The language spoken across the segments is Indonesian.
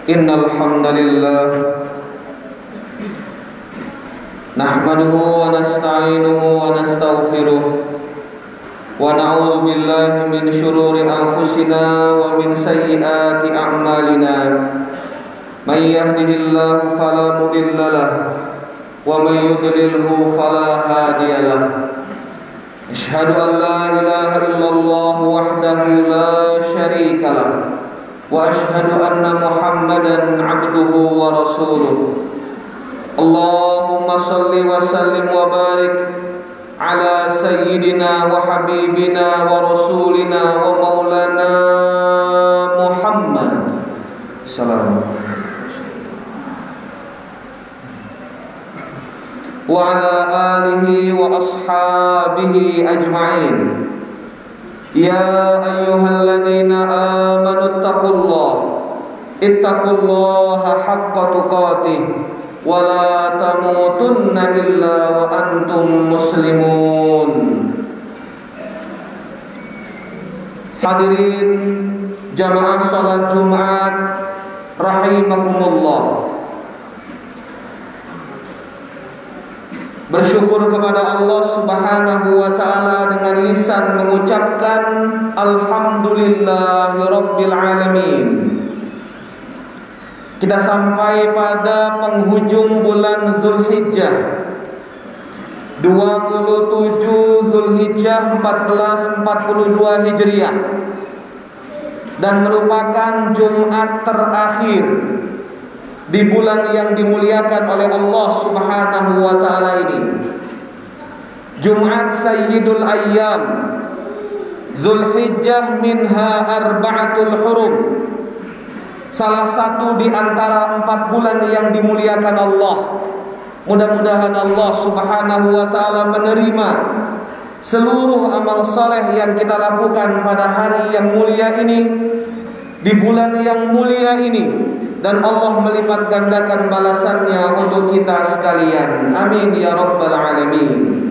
Innal hamdalillah nahmaduhu wa nasta'inuhu wa nastaghfiruh wa na'udzu billahi min shururi anfusina wa min sayyiati a'malina. May yahdihillahu fala mudilla lahu wa may yudlilhu fala hadiya lahu. Asyhadu an la ilaha illallah wahdahu la syarika lahu wa asyhadu anna Muhammadan abduhu wa rasuluh. Allahumma salli wa sallim wa barik ala sayyidina wa habibina wa rasulina wa maulana Muhammad sallallahu wa ala alihi wa ashabihi ajma'in. Ya ayyuhalladzina amanu ittaqullaha haqqa tuqatih wa la tamutunna illa wa antum muslimun. Hadirin jamaah salat Jumat rahimakumullah. Bersyukur kepada Allah Subhanahu wa ta'ala dengan lisan mengucapkan Alhamdulillahi Rabbil Alamin. Kita sampai pada penghujung bulan Zulhijjah, 27 Zulhijjah 1442 Hijriah, dan merupakan Jumat terakhir di bulan yang dimuliakan oleh Allah Subhanahu wa ta'ala ini. Jumat Sayyidul Ayyam, Zulhijjah minha arba'atul hurum, salah satu di antara 4 bulan yang dimuliakan Allah. Mudah-mudahan Allah Subhanahu wa ta'ala menerima seluruh amal saleh yang kita lakukan pada hari yang mulia ini, di bulan yang mulia ini, dan Allah melipat gandakan balasannya untuk kita sekalian. Amin ya rabbal alamin.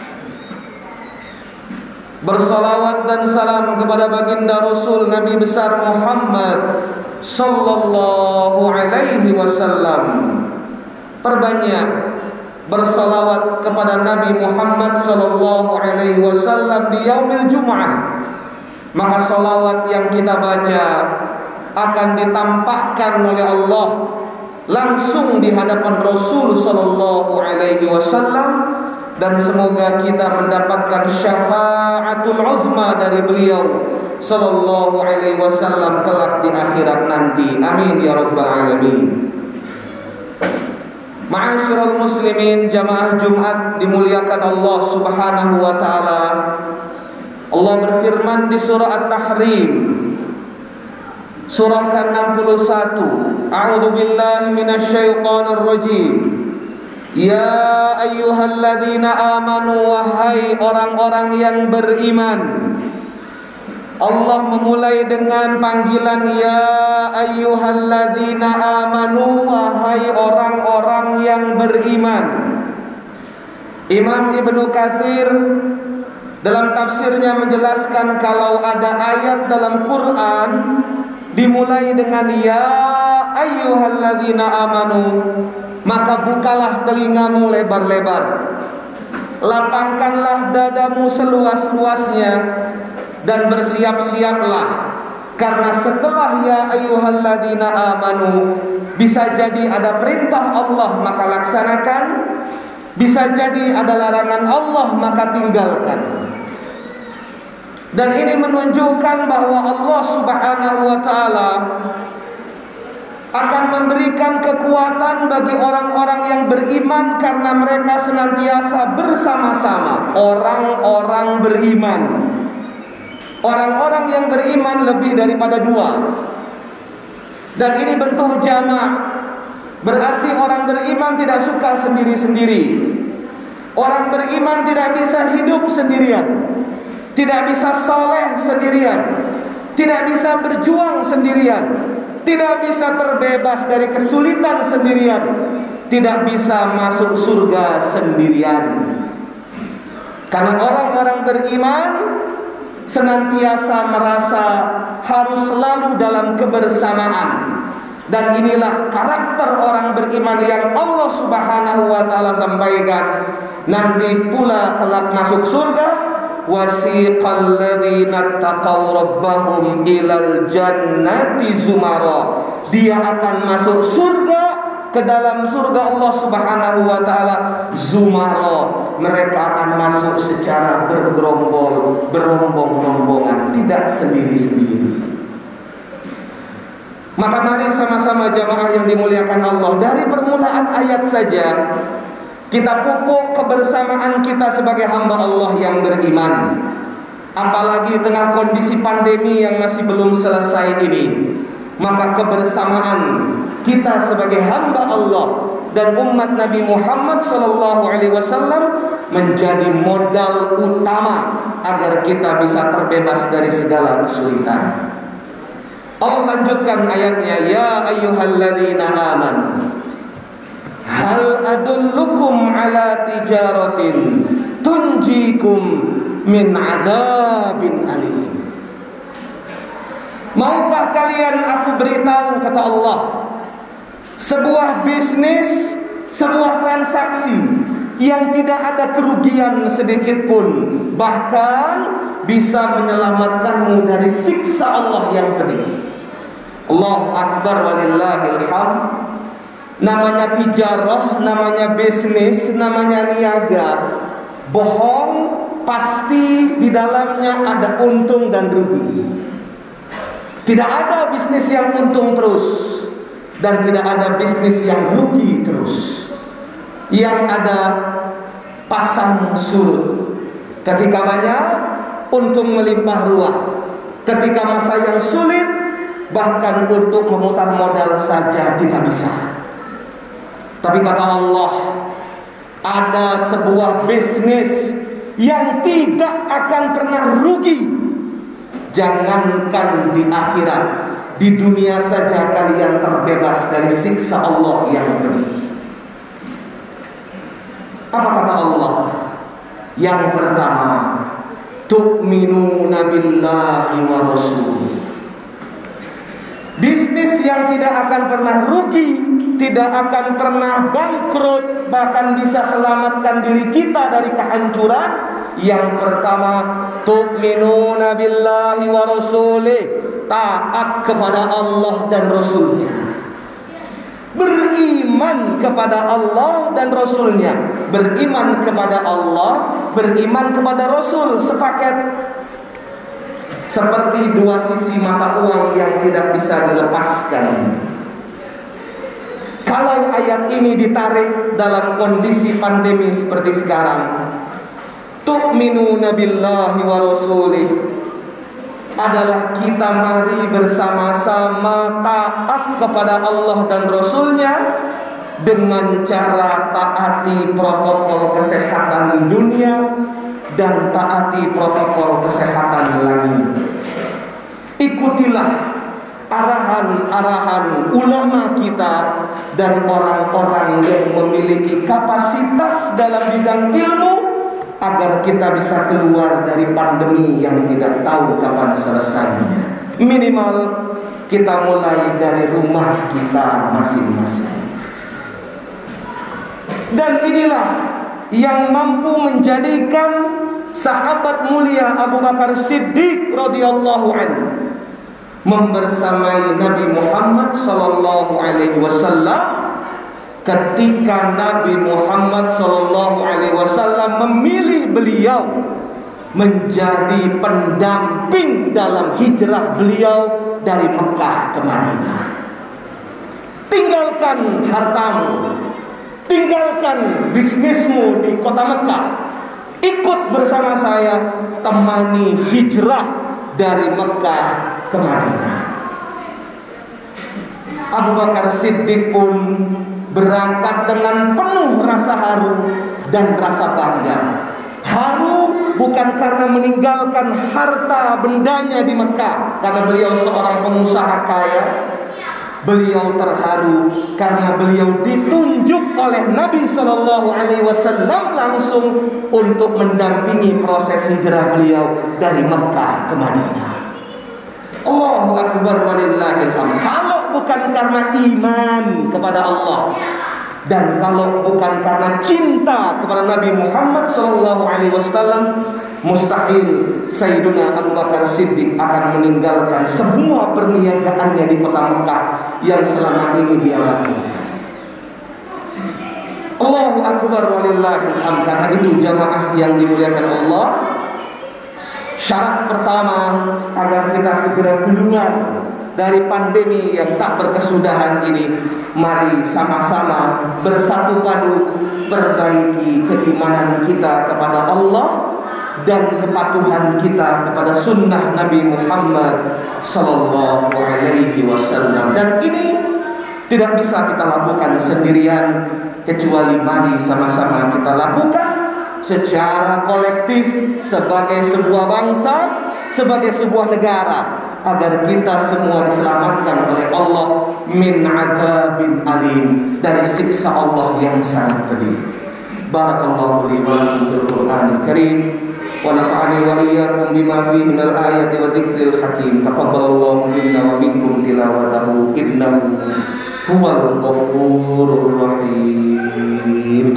Bersalawat dan salam kepada baginda Rasul Nabi besar Muhammad sallallahu alaihi wasallam. Perbanyak bersalawat kepada Nabi Muhammad sallallahu alaihi wasallam di yaumil Jum'ah. Maka salawat yang kita baca akan ditampakkan oleh Allah langsung di hadapan Rasul sallallahu alaihi wasallam, dan semoga kita mendapatkan syafaatul uzma dari beliau sallallahu alaihi wasallam kelak di akhirat nanti. Amin ya rabbal alamin. Ma'asyiral muslimin, jamaah Jumat dimuliakan Allah Subhanahu wa taala. Allah berfirman di surah At-Tahrim, surah ke-61, A'udzu billahi minasyaitonir rajim. Ya ayyuhalladzina amanu, wahai orang-orang yang beriman. Allah memulai dengan panggilan ya ayyuhalladzina amanu, wahai orang-orang yang beriman. Imam Ibnu Katsir dalam tafsirnya menjelaskan kalau ada ayat dalam Quran dimulai dengan ya ayyuhalladzina amanu, maka bukalah telingamu lebar-lebar, lapangkanlah dadamu seluas-luasnya, dan bersiap-siaplah, karena setelah ya ayyuhalladzina amanu bisa jadi ada perintah Allah maka laksanakan, bisa jadi ada larangan Allah maka tinggalkan. Dan ini menunjukkan bahwa Allah Subhanahu wa ta'ala akan memberikan kekuatan bagi orang-orang yang beriman, karena mereka senantiasa bersama-sama. Orang-orang beriman, orang-orang yang beriman lebih daripada 2. Dan ini bentuk jamak, berarti orang beriman tidak suka sendiri-sendiri. Orang beriman tidak bisa hidup sendirian, tidak bisa soleh sendirian, tidak bisa berjuang sendirian, tidak bisa terbebas dari kesulitan sendirian, tidak bisa masuk surga sendirian. Karena orang-orang beriman senantiasa merasa harus selalu dalam kebersamaan, Dan inilah karakter orang beriman yang Allah Subhanahu wa taala sampaikan. Nanti pula kelak masuk surga, wasiqal ladzina taqaw rabbahum ilal jannati zumara. Dia akan masuk surga, ke dalam surga Allah Subhanahu wa taala zumara. Mereka akan masuk secara bergerombol, berombong-rombongan, tidak sendiri-sendiri. Maka mari sama-sama jamaah yang dimuliakan Allah, dari permulaan ayat saja kita pupuk kebersamaan kita sebagai hamba Allah yang beriman. Apalagi tengah kondisi pandemi yang masih belum selesai ini, maka kebersamaan kita sebagai hamba Allah dan umat Nabi Muhammad SAW menjadi modal utama agar kita bisa terbebas dari segala kesulitan. Allah lanjutkan ayatnya, ya ayyuhalladzina amanu hal adullukum ala tijaratin tunjikum min adzabin alim. Maukah kalian aku beritahu, kata Allah, sebuah bisnis, sebuah transaksi yang tidak ada kerugian sedikit pun, bahkan bisa menyelamatkanmu dari siksa Allah yang pedih. Allahu Akbar walillahil hamd. Namanya tijarah, namanya bisnis, namanya niaga. Bohong pasti di dalamnya ada untung dan rugi. Tidak ada bisnis yang untung terus, dan tidak ada bisnis yang rugi terus. Yang ada pasang surut. Ketika banyak, untung melimpah ruah. Ketika masa yang sulit, bahkan untuk memutar modal saja tidak bisa. Tapi kata Allah, ada sebuah bisnis yang tidak akan pernah rugi. Jangankan di akhirat, di dunia saja kalian terbebas dari siksa Allah yang pedih. Apa kata Allah? Yang pertama, tu'minuna billahi wa rasulih. Bisnis yang tidak akan pernah rugi, tidak akan pernah bangkrut, bahkan bisa selamatkan diri kita dari kehancuran. Yang pertama, tu'minuna billahi wa rasulih, taat kepada Allah dan Rasulnya. Beriman kepada Allah dan Rasulnya. Beriman kepada Allah, beriman kepada Rasul, sepaket. Seperti dua sisi mata uang yang tidak bisa dilepaskan. Kalau ayat ini ditarik dalam kondisi pandemi seperti sekarang, tu'minuna billahi wa rasulih adalah kita mari bersama-sama taat kepada Allah dan Rasulnya dengan cara taati protokol kesehatan dunia dan taati protokol kesehatan langit. Ikutilah arahan-arahan ulama kita dan orang-orang yang memiliki kapasitas dalam bidang ilmu, agar kita bisa keluar dari pandemi yang tidak tahu kapan selesainya. Minimal kita mulai dari rumah kita masing-masing. Dan inilah yang mampu menjadikan sahabat mulia Abu Bakar Siddiq radhiyallahu anhu membersamai Nabi Muhammad sallallahu alaihi wasallam ketika Nabi Muhammad SAW memilih beliau menjadi pendamping dalam hijrah beliau dari Mekah ke Madinah. Tinggalkan hartamu, tinggalkan bisnismu di kota Mekah, ikut bersama saya temani hijrah dari Mekah ke Madinah. Abu Bakar Siddiq pun berangkat dengan penuh rasa haru dan rasa bangga. Haru bukan karena meninggalkan harta bendanya di Mekah, karena beliau seorang pengusaha kaya. Beliau terharu karena beliau ditunjuk oleh Nabi SAW langsung untuk mendampingi proses hijrah beliau dari Mekah ke Madinah. Allahu Akbar walillahil hamd. Kalau kalau bukan karena iman kepada Allah, dan kalau bukan karena cinta kepada Nabi Muhammad SAW, mustahil Sayyiduna Abu Bakar Siddiq akan meninggalkan semua perniagaannya di kota Mekah yang selama ini dia lakukan. Allahu Akbar walillahil hamd. Karena itu jamaah yang dimuliakan Allah, syarat pertama agar kita segera keluar dari pandemi yang tak berkesudahan ini, mari sama-sama bersatu padu perbaiki keimanan kita kepada Allah dan kepatuhan kita kepada sunnah Nabi Muhammad sallallahu alaihi wasallam. Dan ini tidak bisa kita lakukan sendirian, kecuali mari sama-sama kita lakukan secara kolektif sebagai sebuah bangsa, sebagai sebuah negara, agar kita semua diselamatkan oleh Allah min adzabin alim, dari siksa Allah yang sangat pedih. Barakallahu li wa lakum fil Qur'anil Karim wa nafa'ani wa iyyakum bima fihi minal ayati wa dzikril hakim. Taqabbalallahu minna wa minkum tilawatahu innahu huwal ghafurur rahim.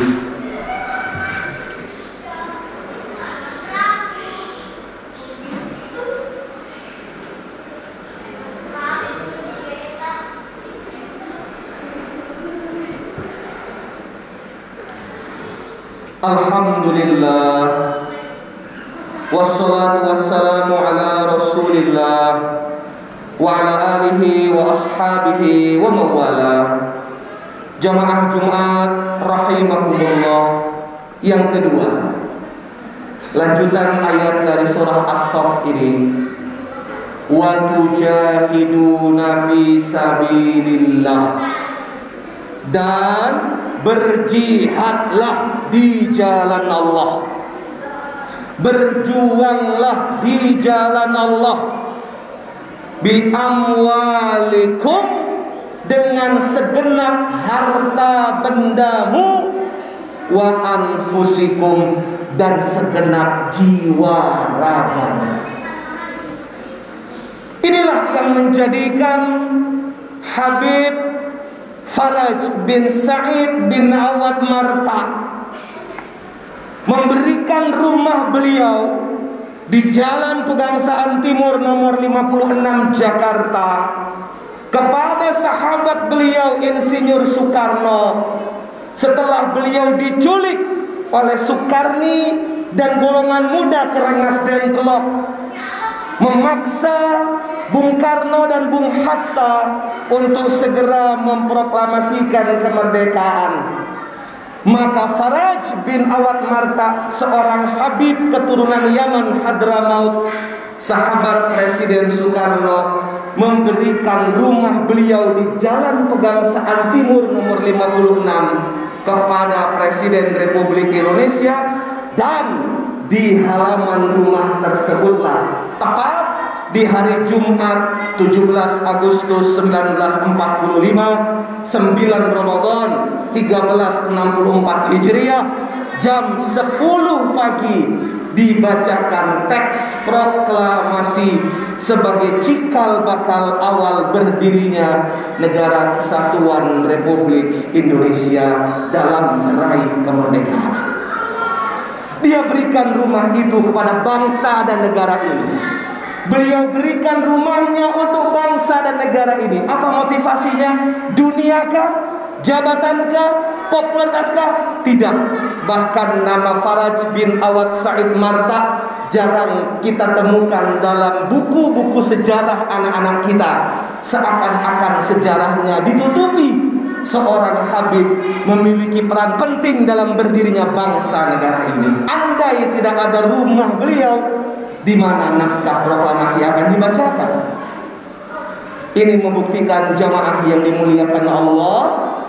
Alhamdulillah, wassalatu wassalamu ala rasulillah wa ala alihi wa ashabihi wa mawala. Jamaah Jumat rahimakumullah. Yang kedua, lanjutan ayat dari surah As-Saff ini, wa tujahiduna fi sabilillah, dan berjihadlah di jalan Allah, berjuanglah di jalan Allah, bi amwalikum, dengan segenap harta bendamu, wa anfusikum, dan segenap jiwa ragamu. Inilah yang menjadikan Habib Faraj bin Sa'id bin Awad Marta memberikan rumah beliau di Jalan Pegangsaan Timur nomor 56 Jakarta kepada sahabat beliau Insinyur Soekarno setelah beliau diculik oleh Soekarni dan golongan muda Kerengas Dengklok, memaksa Bung Karno dan Bung Hatta untuk segera memproklamasikan kemerdekaan. Maka Faraj bin Awad Marta, seorang Habib keturunan Yaman Hadramaut, sahabat Presiden Soekarno, memberikan rumah beliau di Jalan Pegangsaan Timur nomor 56 kepada Presiden Republik Indonesia. Dan di halaman rumah tersebutlah tepat di hari Jumat 17 Agustus 1945, 9 Ramadan 1364 Hijriah, jam 10 pagi dibacakan teks proklamasi sebagai cikal bakal awal berdirinya Negara Kesatuan Republik Indonesia dalam meraih kemerdekaan. Dia berikan rumah itu kepada bangsa dan negara ini. Beliau berikan rumahnya untuk bangsa dan negara ini. Apa motivasinya? Duniakah? Jabatankah? Popularitaskah? Tidak. Bahkan nama Faraj bin Awad Sa'id Marta jarang kita temukan dalam buku-buku sejarah anak-anak kita. Seakan-akan sejarahnya ditutupi. Seorang Habib memiliki peran penting dalam berdirinya bangsa negara ini. Andai tidak ada rumah beliau, di mana naskah proklamasi akan dibacakan? Ini membuktikan jamaah yang dimuliakan Allah,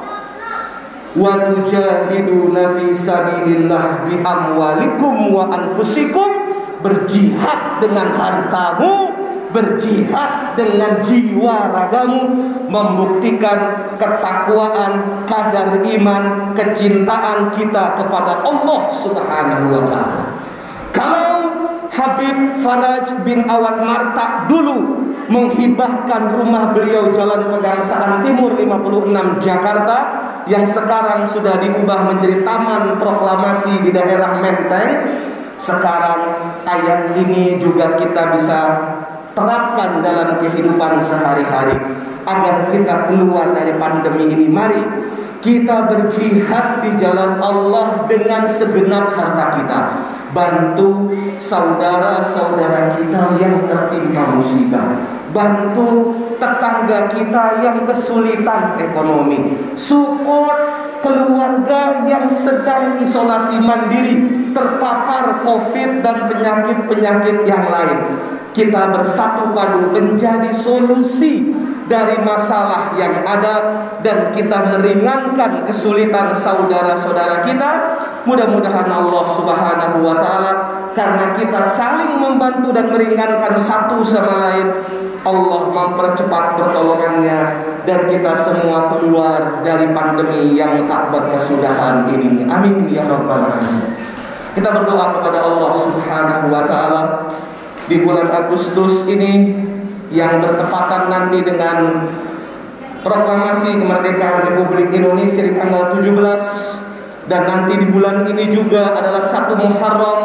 wa tujahiduna fi sabilillah bi amwalikum wa anfusikum, berjihad dengan hartamu, berjihad dengan jiwa ragamu, membuktikan ketakwaan, kadar iman, kecintaan kita kepada Allah Subhanahu wa ta'ala. Kalau Habib Faraj bin Awad Marta dulu menghibahkan rumah beliau Jalan Pegangsaan Timur 56 Jakarta, yang sekarang sudah diubah menjadi Taman Proklamasi di daerah Menteng. Sekarang ayat ini juga kita bisa terapkan dalam kehidupan sehari-hari agar kita keluar dari pandemi ini. Mari kita berjihad di jalan Allah dengan segenap harta kita. Bantu saudara-saudara kita yang tertimpa musibah. Bantu tetangga kita yang kesulitan ekonomi. Support keluarga yang sedang isolasi mandiri, terpapar COVID dan penyakit-penyakit yang lain. Kita bersatu padu menjadi solusi dari masalah yang ada, dan kita meringankan kesulitan saudara-saudara kita. Mudah-mudahan Allah Subhanahu wa Ta'ala, karena kita saling membantu dan meringankan satu sama lain, Allah mempercepat pertolongannya dan kita semua keluar dari pandemi yang tak berkesudahan ini. Amin ya rabbal alamin. Kita berdoa kepada Allah Subhanahu wa Ta'ala di bulan Agustus ini yang bertepatan nanti dengan proklamasi kemerdekaan Republik Indonesia di tanggal 17, dan nanti di bulan ini juga adalah 1 Muharram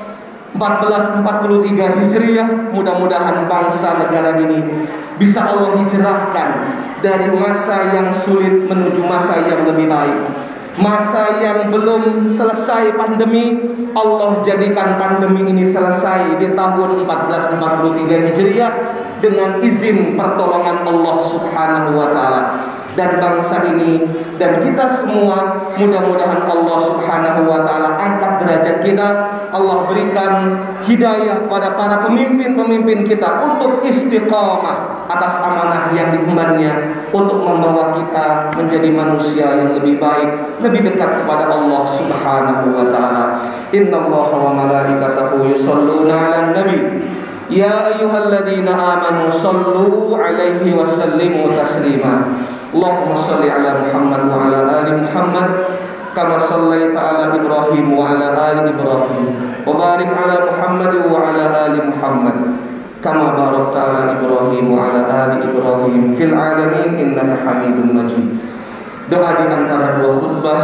1443 Hijriah. Mudah-mudahan bangsa negara ini bisa Allah hijrahkan dari masa yang sulit menuju masa yang lebih baik. Masa yang belum selesai pandemi, Allah jadikan pandemi ini selesai di tahun 1443 Hijriah dengan izin pertolongan Allah Subhanahu wa Ta'ala. Dan bangsa ini dan kita semua, mudah-mudahan Allah Subhanahu wa Ta'ala angkat derajat kita. Allah berikan hidayah kepada para pemimpin-pemimpin kita untuk istiqamah atas amanah yang diembannya, untuk membawa kita menjadi manusia yang lebih baik, lebih dekat kepada Allah Subhanahu wa Ta'ala. Innallaha wa malaikatahu yusholluna 'alan nabi. Ya ayyuhalladzina amanu shallu 'alaihi wa sallimu taslima. Allahumma shalli 'ala Muhammad wa 'ala ali Muhammad kama shallaita 'ala Ibrahim wa 'ala ali Ibrahim wa barik 'ala Muhammad wa 'ala ali Muhammad kama barakta 'ala Ibrahim wa 'ala ali Ibrahim fil 'alamin innaka Hamidum Majid. Doa di antara dua khutbah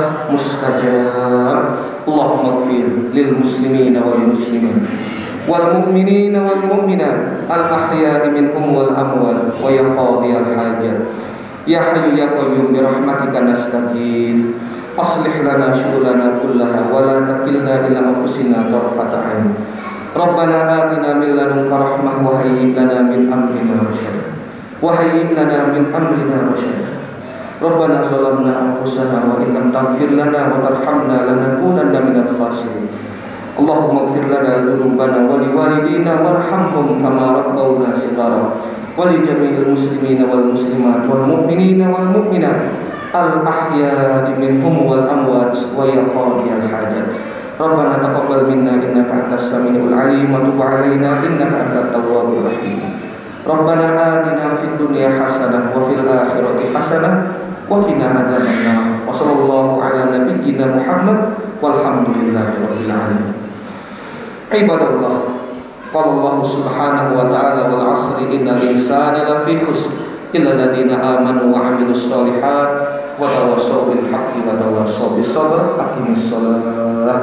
mustajab. Allahumma ighfir lil muslimina wal muslimin wal mu'minina wal mu'minat al ahya'i minhum wal amwat wa ya qadiyal hajat. Ya Hayyu ya Qayyum bi rahmatika nastaghits. Aslih lana syughulana kullaha wa la takilna ila anfusina tarfata 'ain. Rabbana atina min ladunka rahmah wa hayyi' lana min amrina rasyada. Wa hayyi' lana min amrina rasyada. Rabbana zalamna anfusana wa in lam taghfir lana wa tarhamna lanakunanna minal khasirin. Allahumma ighfir lana dzunubana wa liwalidina warhamhum kama rabbawna shighara. ولجميع المسلمين والمسلمات والمؤمنين والمؤمنات الأحياء منهم والأموات ويا قاضي الحاجات. ربنا تقبل منا إنك أنت السميع العليم وتب علينا إنك أنت التواب الرحيم. ربنا آتنا في الدنيا حسنة وفي الآخرة حسنة وقنا عذاب النار. وصلى الله على نبينا محمد والحمد لله رب العالمين. عباد الله، قال الله سبحانه وتعالى والعصر إن الإنسان لفي خسر إلا الذين آمنوا وعملوا الصالحات وتواصوا بالحق وتواصوا بالصبر. أقم الصلاة.